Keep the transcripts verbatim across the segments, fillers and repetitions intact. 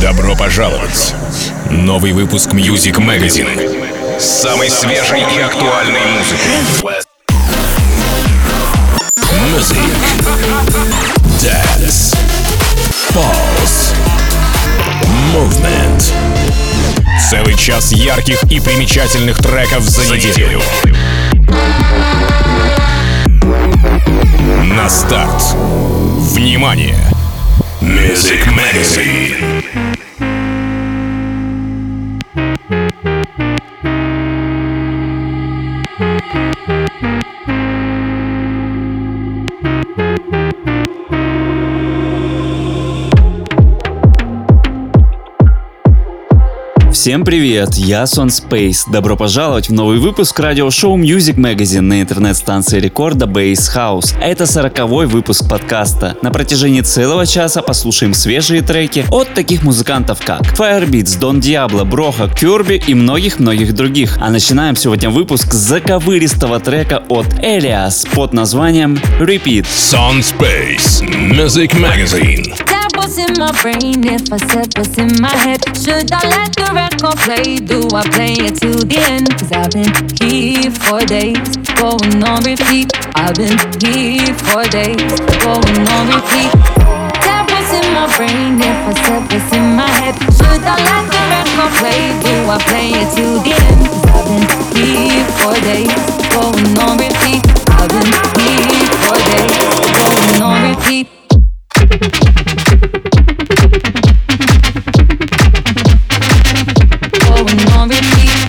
Добро пожаловать! Новый выпуск Music Magazine с самой свежей и актуальной музыкой. Music, Dance, Pulse, Movement. Целый час ярких и примечательных треков за неделю. На старт. Внимание! Music Magazine. Всем привет, я Сон Space. Добро пожаловать в новый выпуск радиошоу Music Magazine на интернет-станции рекорда Bass House. Это сороковой выпуск подкаста. На протяжении целого часа послушаем свежие треки от таких музыкантов как Firebeatz, Don Diablo, Broha, Kirby и многих-многих других. А начинаем сегодня выпуск с заковыристого трека от Elias под названием Repeat. Сон Space, Music Magazine. What's in my brain if I said what's in my head? Should I let the record play? Do I play it to the end? Cause I've been here for days, going on repeat. I've been here for days, going on repeat. That was in my brain if I said what's in my head. Should I let the record play? Do I play it to the end? Cause I've been here for days, going on repeat. I've been here for days, going on repeat. Going on repeat.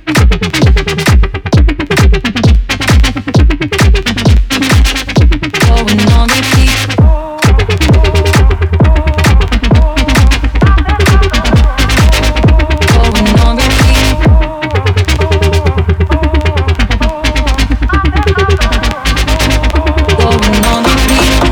Going on repeat. Going on repeat. Going on repeat.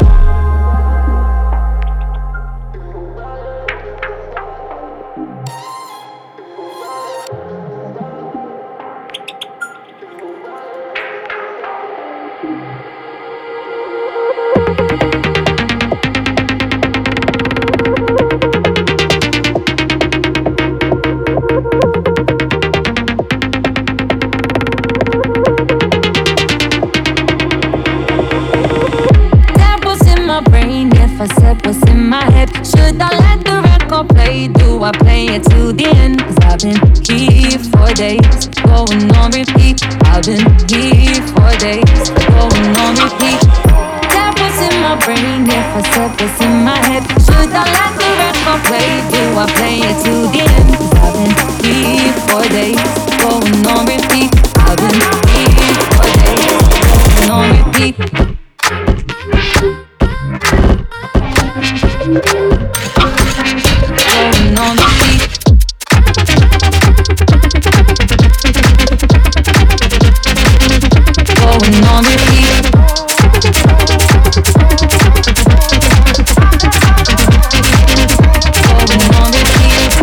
I said what's in my head. Should I let the record play? Do I play it to the end? Cause I've been here for days, going on repeat. I've been here for days, going on repeat. That was in my brain if I said what's in my head. Should I let the record play? Do I play it to the end? Cause I've been here for days, going on repeat. I've been here for days, going on repeat. Going on repeat. Going on repeat. Going on repeat.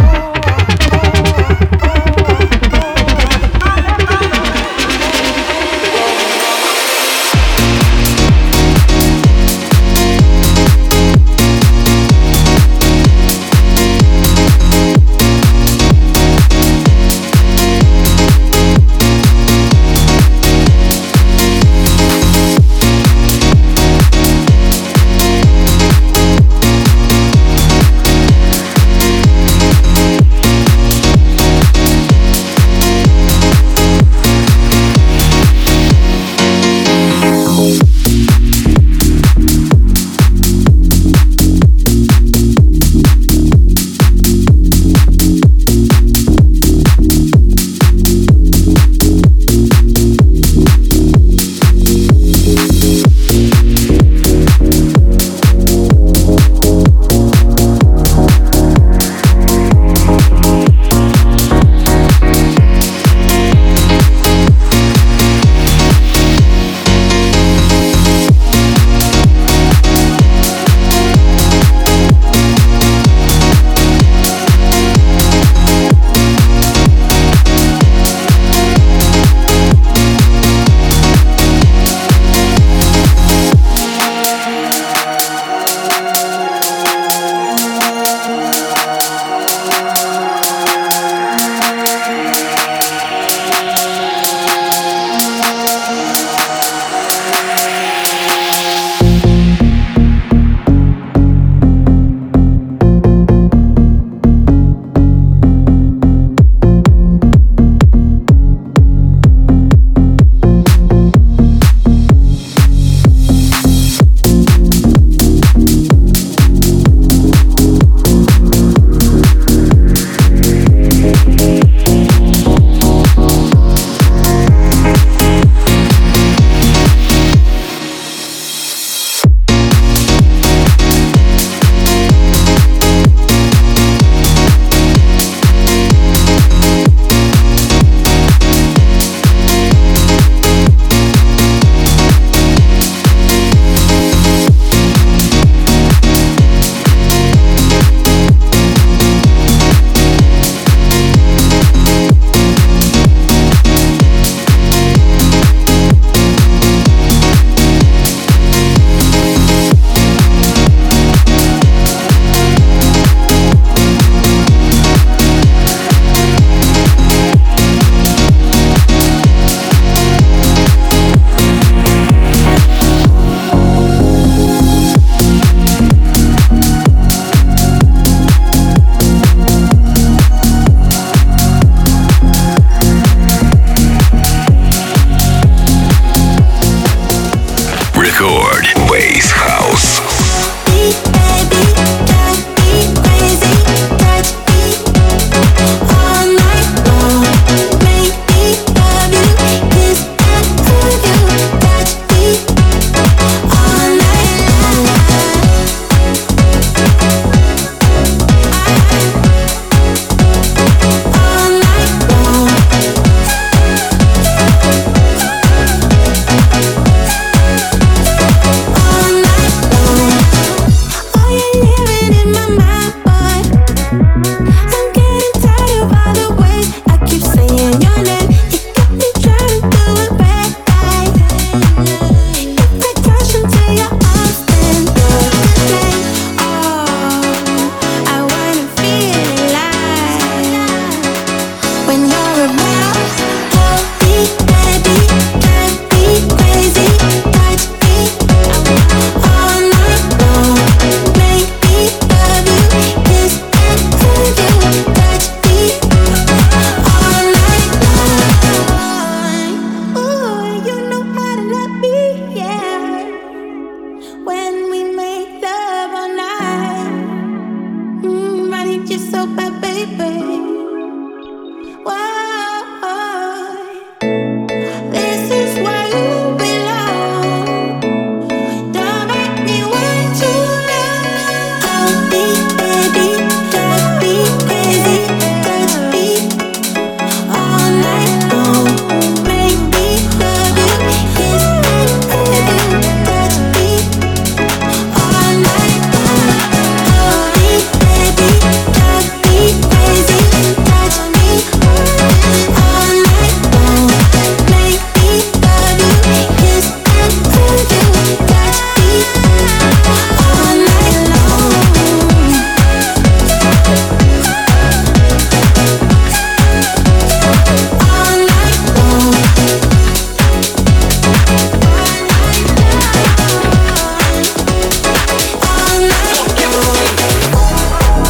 you so bad, baby? Why? This is where you belong. Don't make me wait too long. I'll be baby, just be crazy, touch me all night long. Make me love you, kiss me, touch me all night long. I'll be baby, just be crazy, touch me all night long. Make me love you, kiss and hold you, touch me all night long. All night long. All night long.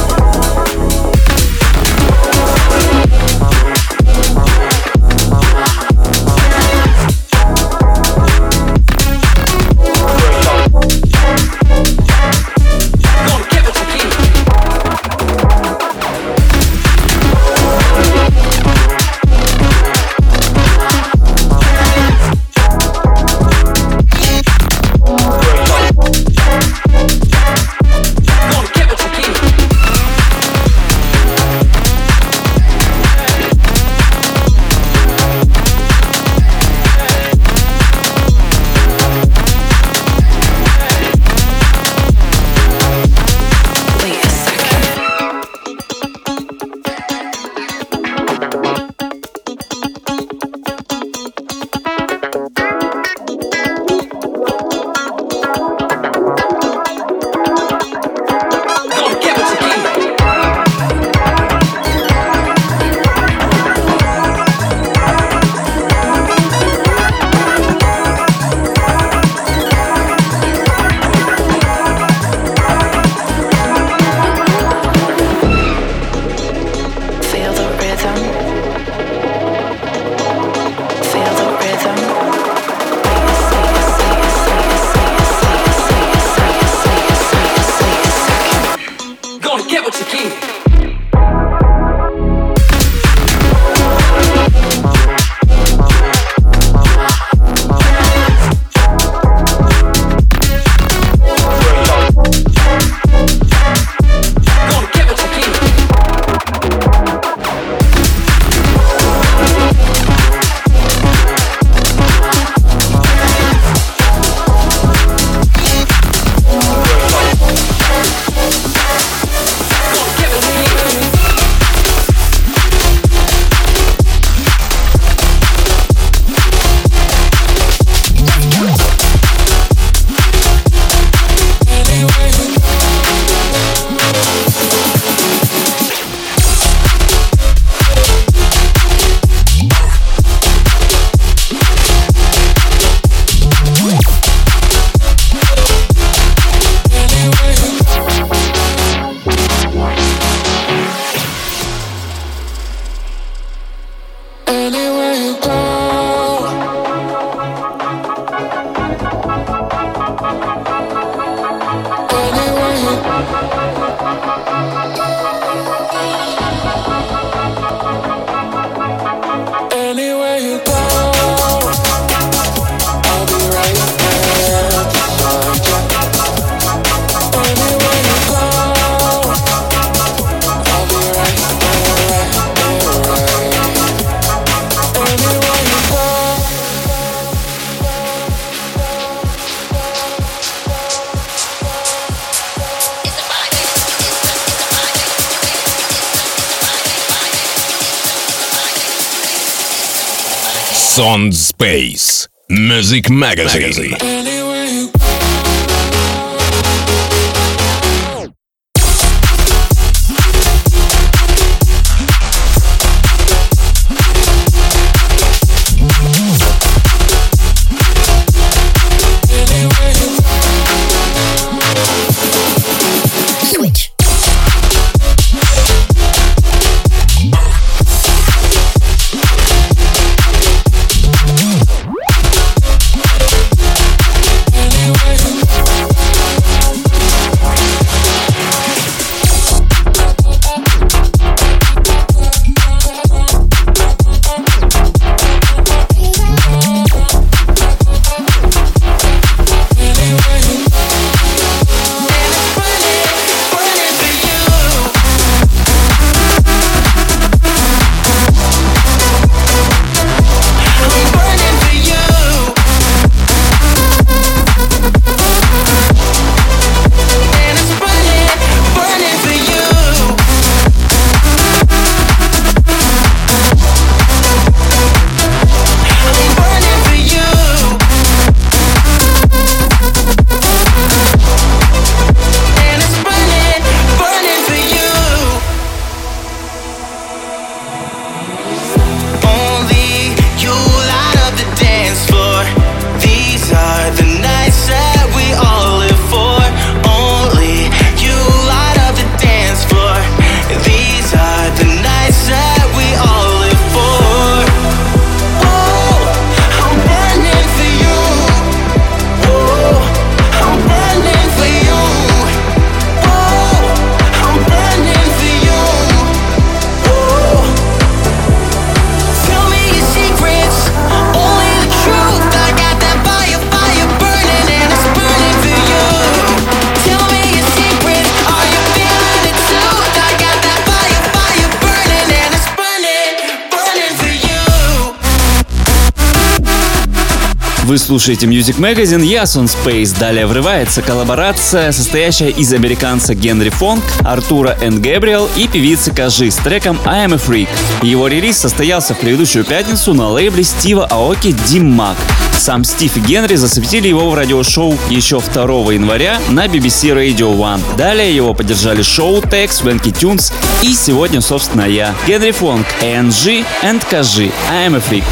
Feel the rhythm. Feel the rhythm. Gonna get what you keep. Gonna get what you keep. Anywhere you go, anywhere you anywhere you go, I'll be right there beside you. Anywhere you go, I'll be right there, right there, right. Anywhere you go. Sound Space Music Magazine. Anywhere you switch. Anywhere Вы слушаете Music Magazine, я Сон Space. Далее врывается коллаборация, состоящая из американца Генри Фонк, Артура энд Гэбриэл и певицы Кажи с треком I Am a Freak. Его релиз состоялся в предыдущую пятницу на лейбле Стива Аоки Дим Мак. Сам Стив и Генри засветили его в радиошоу еще второго января на би би си Radio One. Далее его поддержали Шоу Тек, Свенки Тюнс и сегодня, собственно, я. Генри Фонк, эй эн джи and Кажи, I Am a Freak.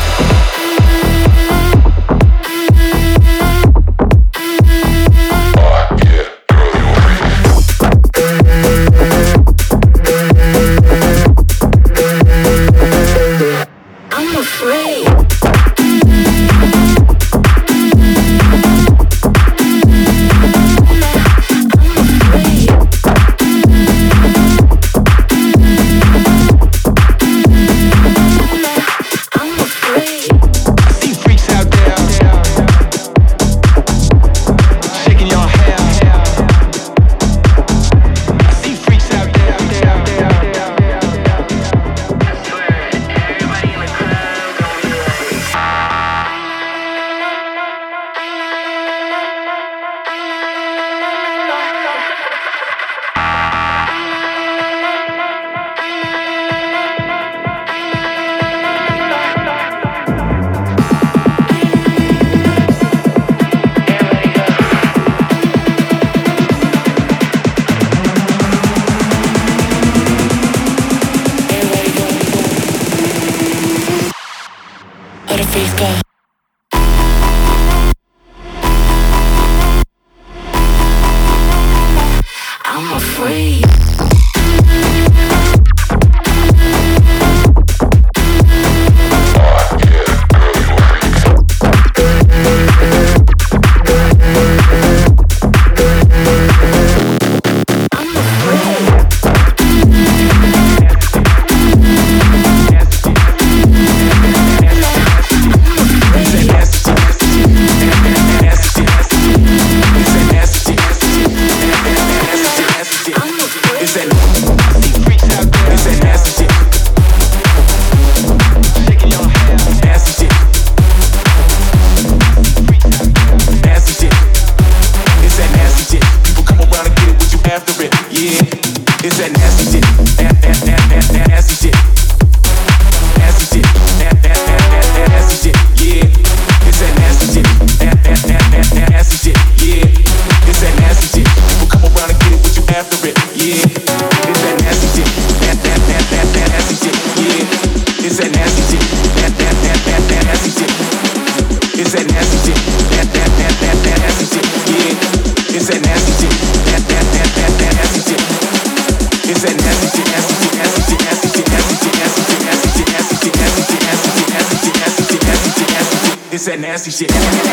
It's that nasty shit.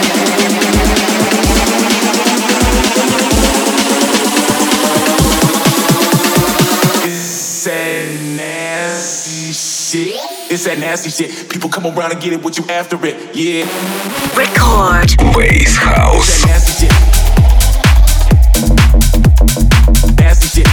It's that nasty shit. It's that nasty shit. People come around and get it what you after it. Yeah. Record. Bass House. It's that nasty shit. Nasty shit.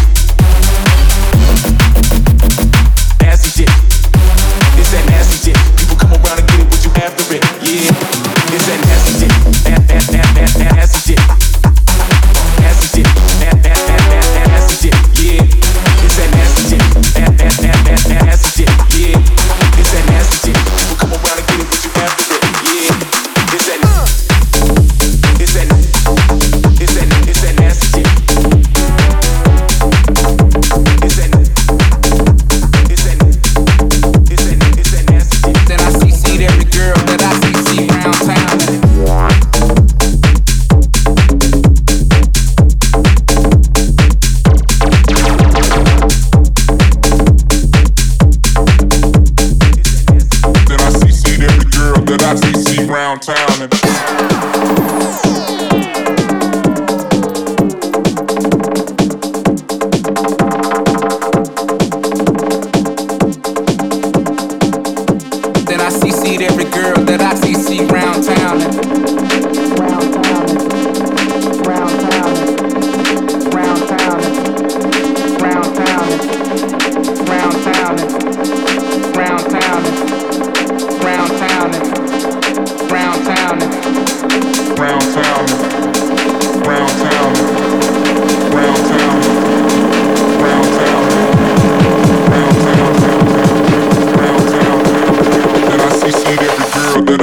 Nasty shit. It's that nasty shit. People come around and get it what you after it. Yeah. It's that nasty shit. Nasty shit. Nasty shit. Nasty shit. Yeah. It's that nasty shit. Nasty shit. Yeah. It's that nasty shit. People come around and get it what you after it. Yeah. It's that. It's that.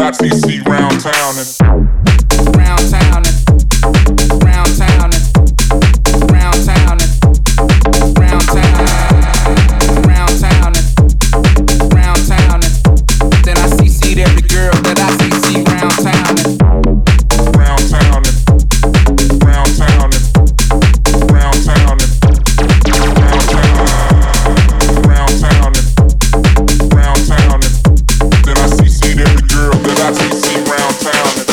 I T C round town and round town and round town and round town and round town round town and round town and then I C C'd every girl that I C C round town and round town and round town and round town and round town round town and round town and then I C C'd every girl that I C C round town and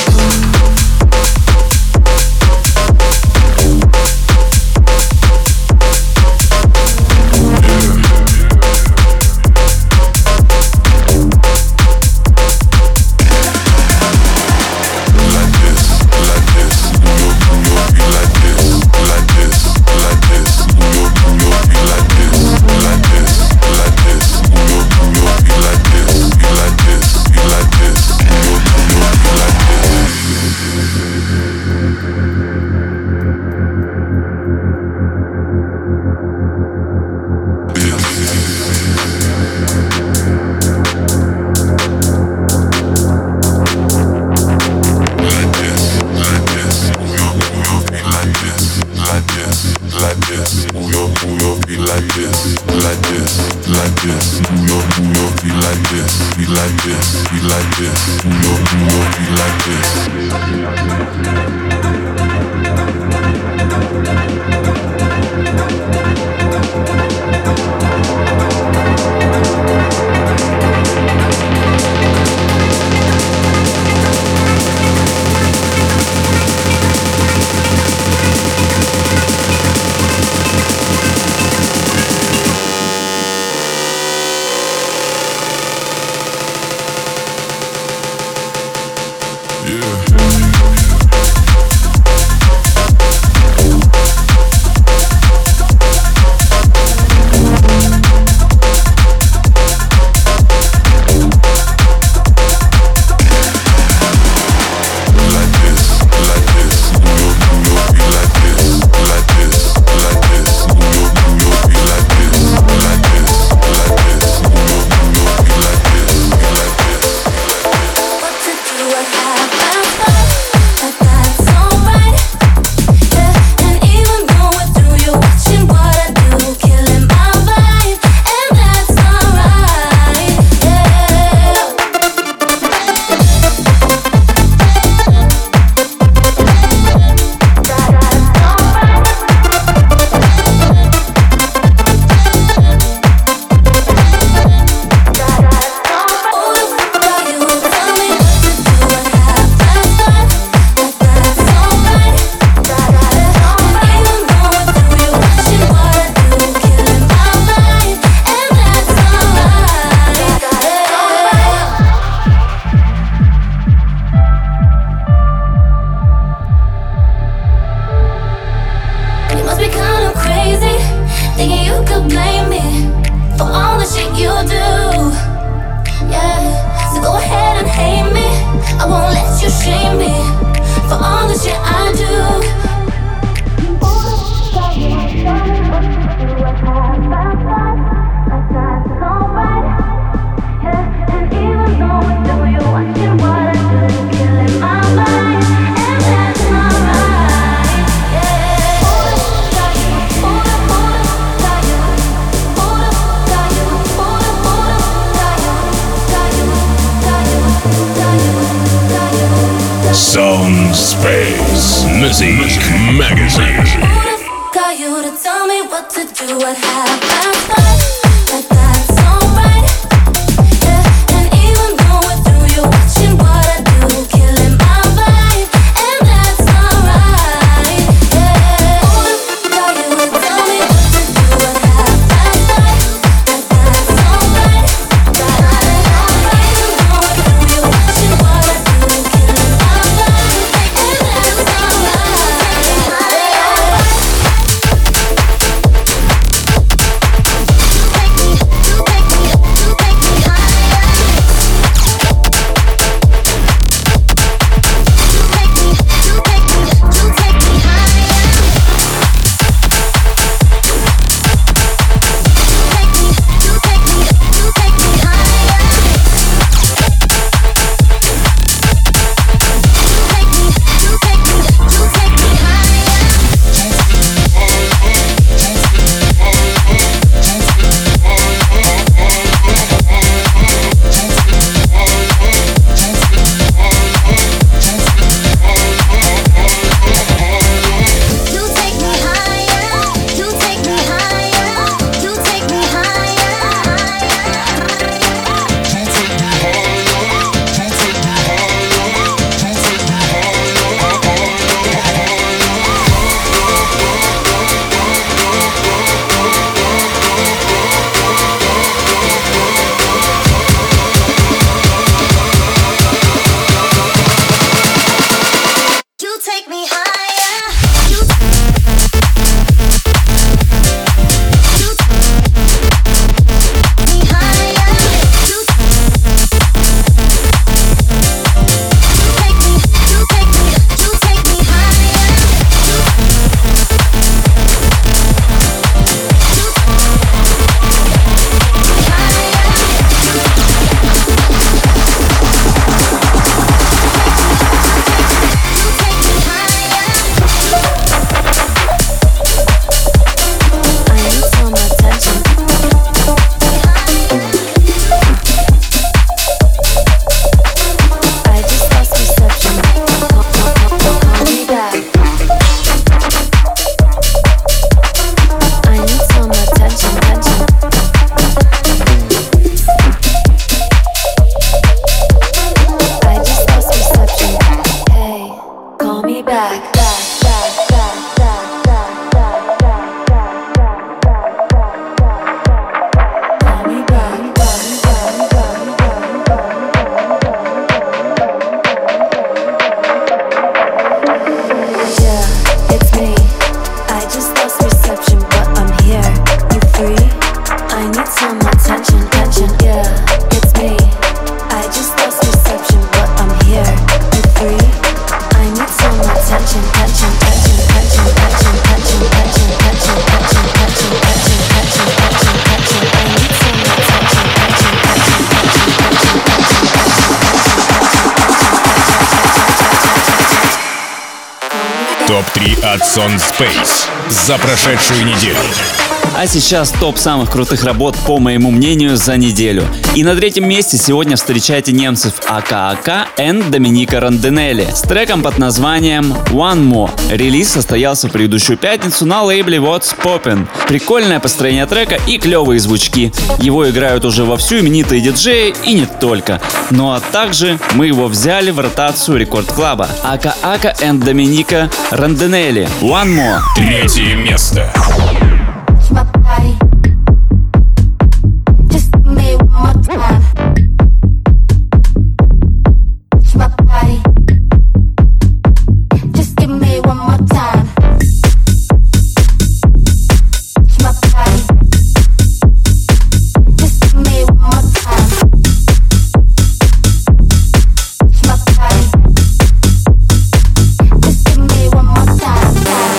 Space Music Magazine. Got you to tell me what to do, what happened, like that's alright. Yeah, and even going through you, watching what I do, killing my vibe, and that's alright. Yeah, got you to tell me what to do, what happened, like that's alright. Even going through you, watching what I do, killing my vibe, and that's alright. some attention, attention, yeah, it's me. I just lost reception, but I'm here. You free? I need some attention, attention, attention, attention, attention, attention, attention, attention, attention, attention, attention, attention, attention, attention. I need some attention, attention, attention, attention, attention. топ три от Сон Space за прошедшую неделю. А сейчас топ самых крутых работ, по моему мнению, за неделю. И на третьем месте сегодня встречайте немцев АК АК and Доминика Рандинелли с треком под названием One More. Релиз состоялся в предыдущую пятницу на лейбле What's Poppin'. Прикольное построение трека и клевые звучки. Его играют уже вовсю именитые диджеи и не только. Ну а также мы его взяли в ротацию Рекорд Клаба. АК АК and Доминика Рандинелли One More. Третье место. My body, just give me one more time. My body, just give me one more time. My body, just give me one more time. My body, just give me one more time.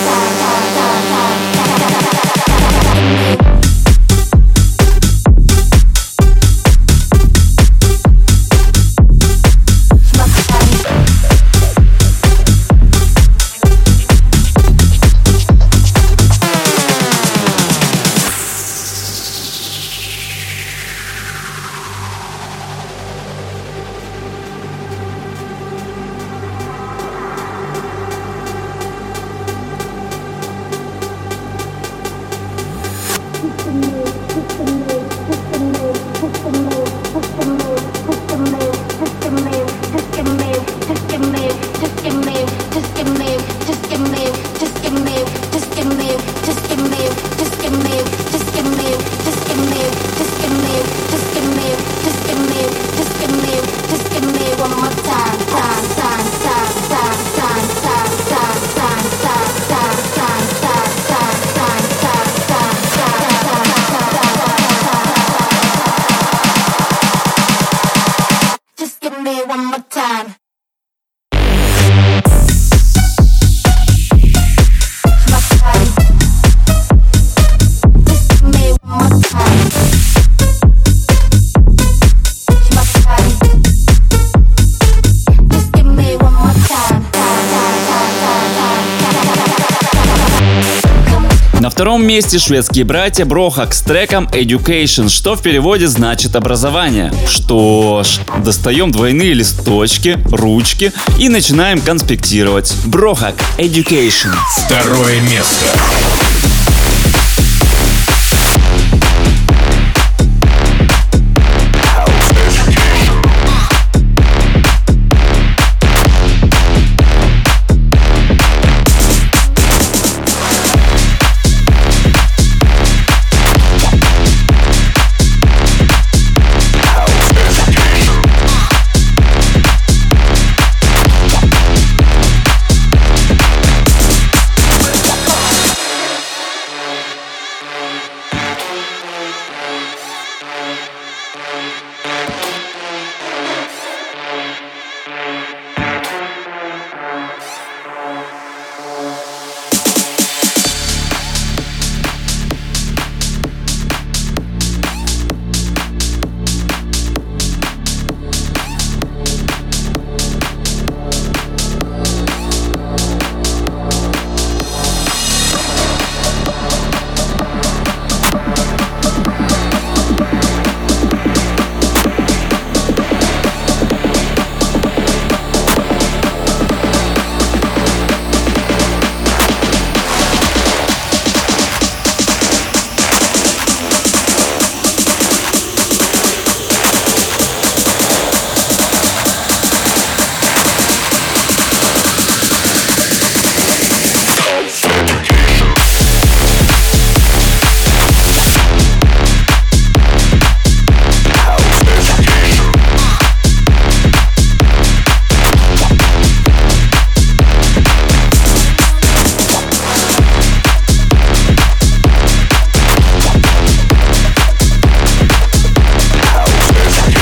На втором месте шведские братья Брохак с треком Education, что в переводе значит образование. Что ж, достаем двойные листочки, ручки и начинаем конспектировать. Брохак Education. Второе место.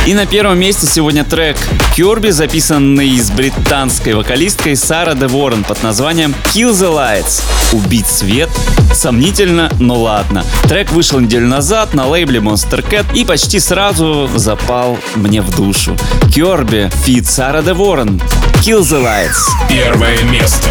И на первом месте сегодня трек Kirby, записанный с британской вокалисткой Сара Де Ворон под названием Kill the Lights. Убить свет? Сомнительно, но ладно. Трек вышел неделю назад на лейбле Monster Cat и почти сразу запал мне в душу. Kirby, фит Сара Де Ворон. Kill the Lights. Первое место.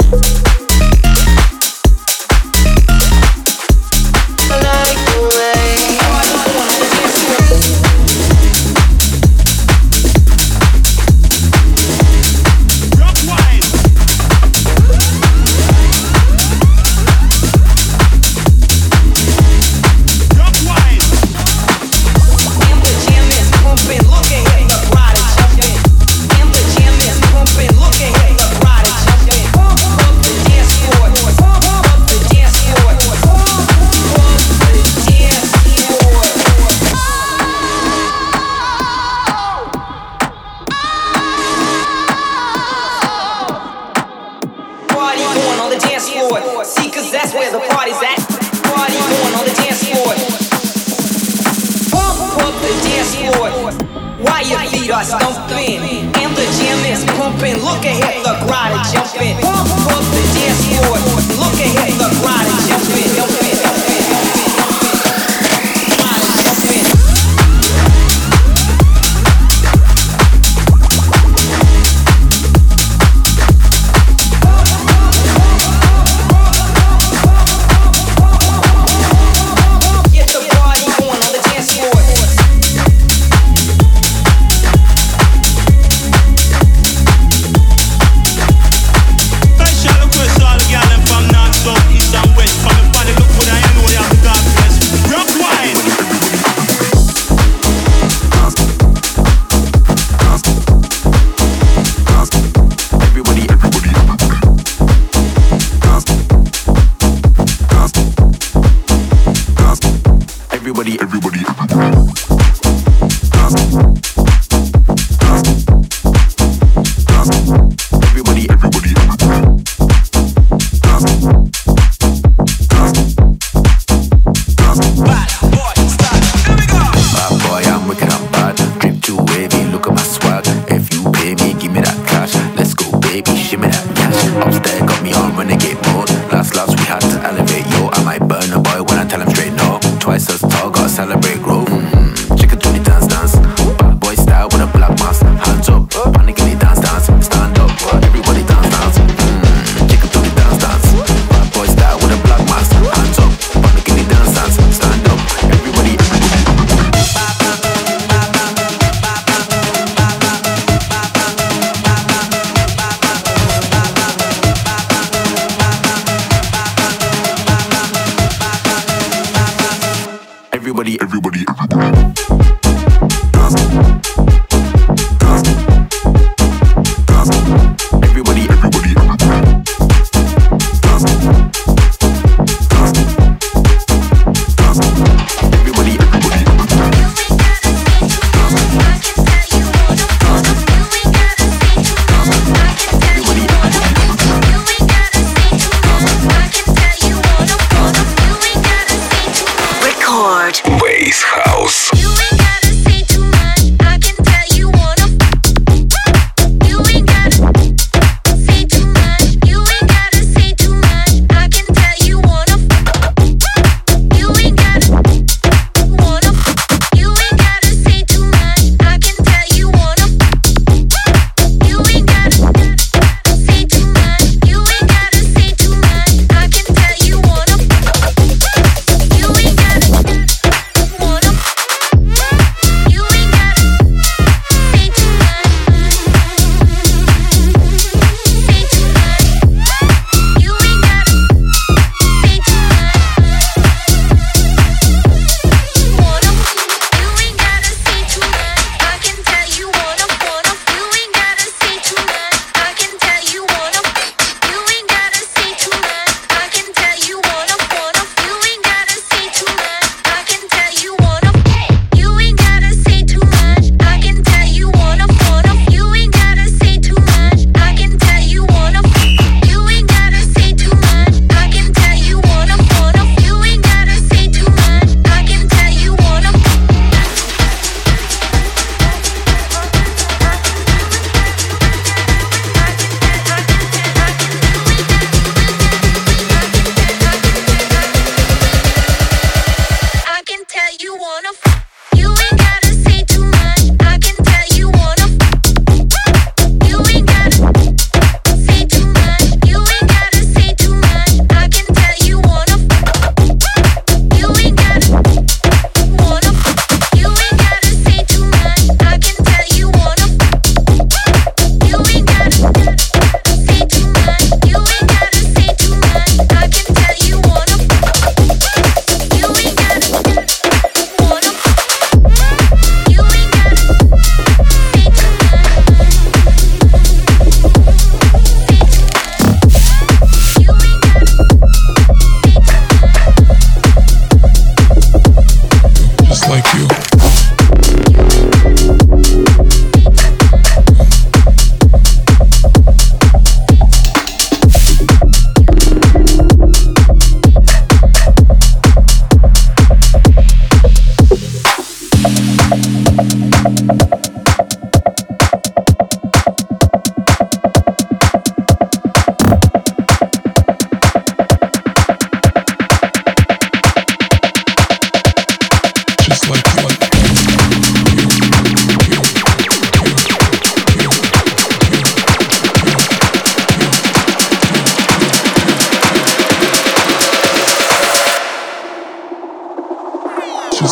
Bass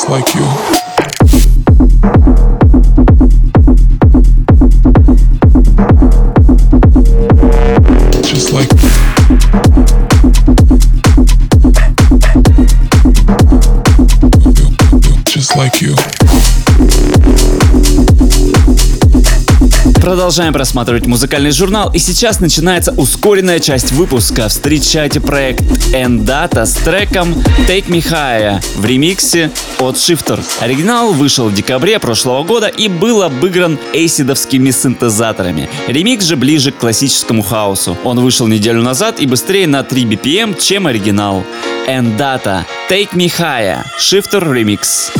just like you. Just like Just like you. Продолжаем просматривать музыкальный журнал, и сейчас начинается ускоренная часть выпуска. Встречайте проект Endata с треком Take Me Higher в ремиксе от Shifter. Оригинал вышел в декабре прошлого года и был обыгран эйсидовскими синтезаторами. Ремикс же ближе к классическому хаосу. Он вышел неделю назад и быстрее на три би пи эм, чем оригинал. Endata Take Me Higher, Shifter Remix.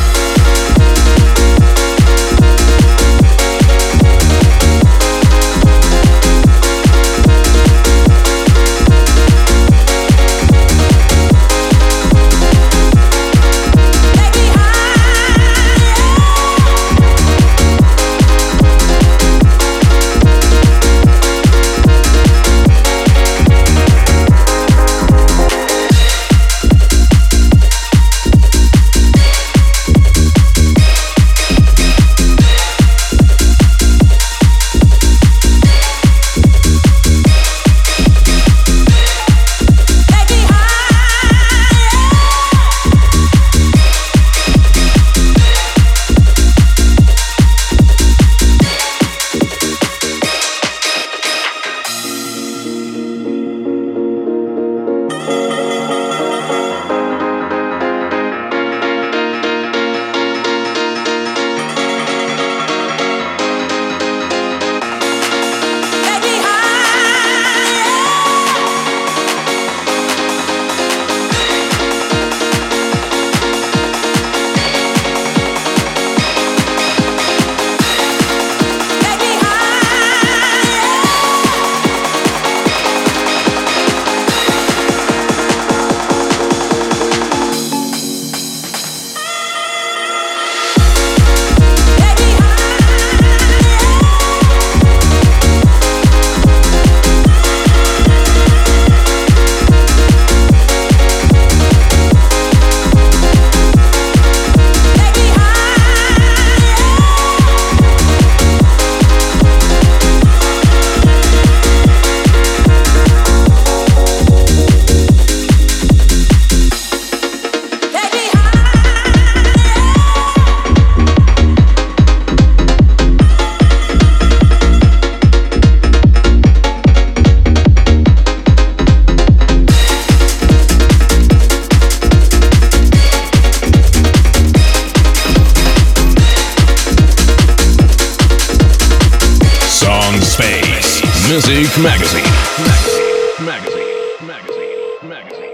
Music Magazine. Magazine. Magazine. Magazine. Magazine.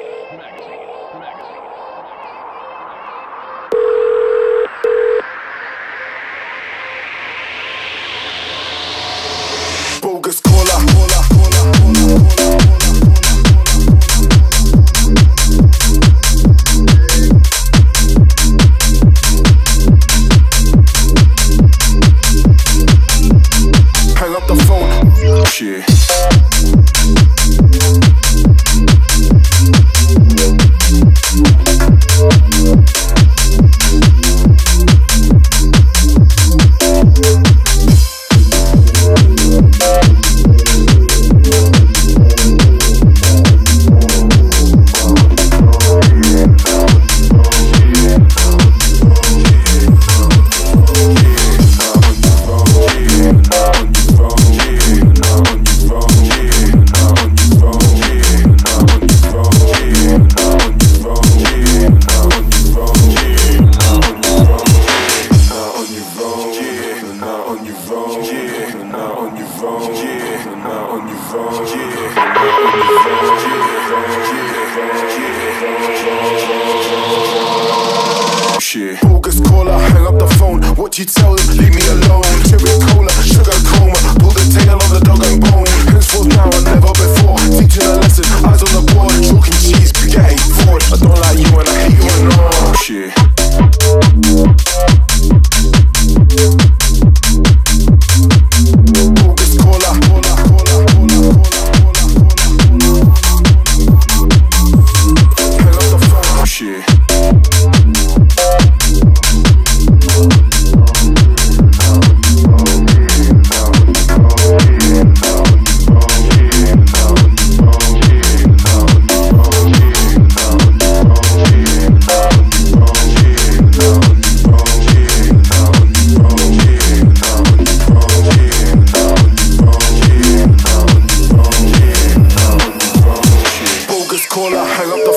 Bogus caller, caller, caller, caller, caller. Hang up the phone. Shit. Bogus caller, hang up the phone. What you tell them? Leave me alone. Cherry cola, sugar coma. Pull the tail of the dog and bone. Henceforth now and never before. Teaching a lesson, eyes on the board. Chalk and cheese, spaghetti, forward. I don't like you and I hate you and all. Shit. Bogus caller, caller, caller, caller, caller, caller. Hang up the phone. Shit.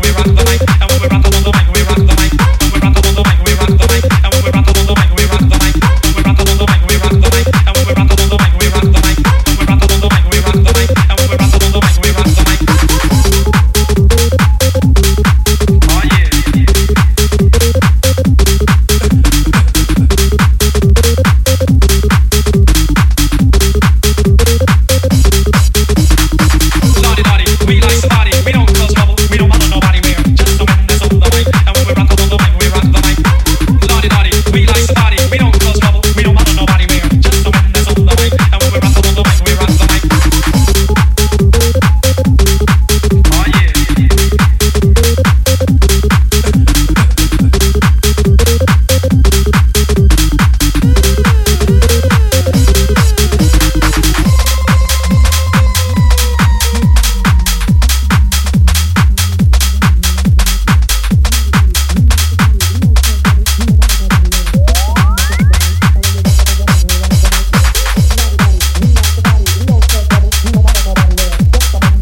When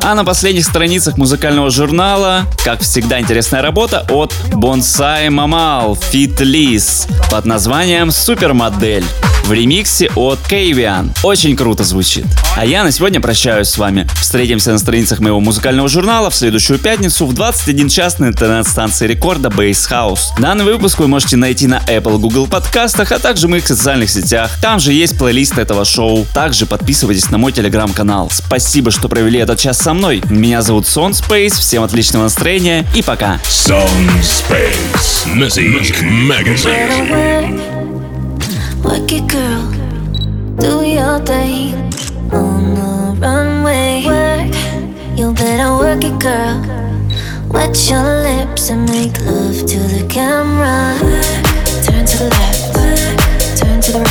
А на последних страницах музыкального журнала, как всегда, интересная работа от Bonsai Mamal Feat. Liz под названием «Супермодель» в ремиксе от Kayvian. Очень круто звучит. А я на сегодня прощаюсь с вами. Встретимся на страницах моего музыкального журнала в следующую пятницу в двадцать один час на интернет-станции рекорда Bass House. Данный выпуск вы можете найти на Apple, Google подкастах, а также в моих социальных сетях. Там же есть плейлист этого шоу. Также подписывайтесь на мой телеграм-канал. Спасибо, что провели этот час со мной. Меня зовут Сон Space. Всем отличного настроения и пока. Сон Space Music Magazine. Work it, girl. Do your thing on the runway. Work, you better work it, girl. Wet your lips and make love to the camera. Turn to the left, turn to the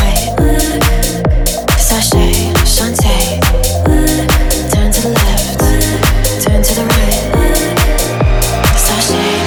right. Sashay, Shantae. Turn to the left, turn to the right. Sashay.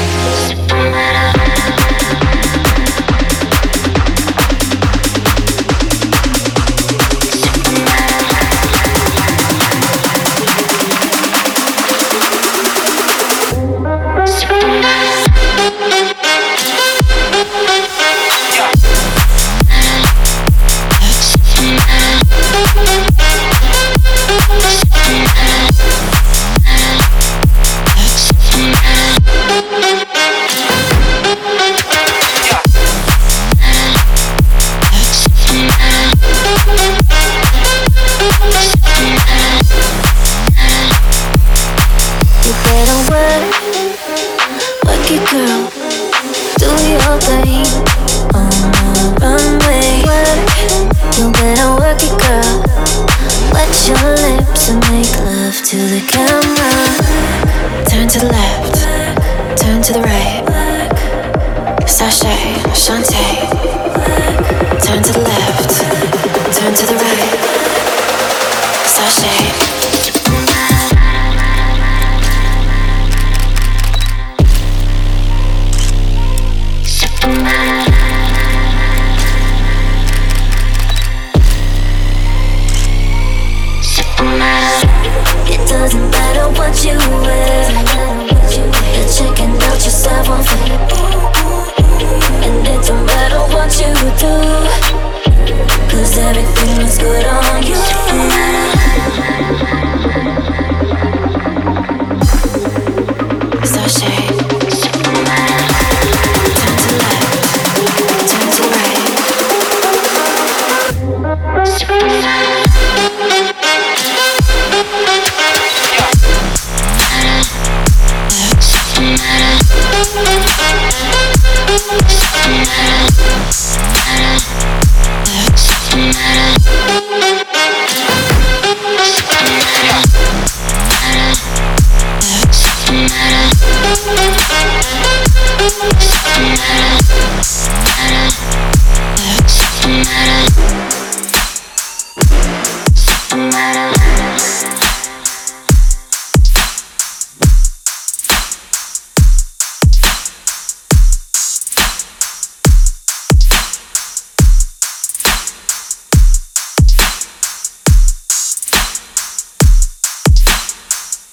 Yeah.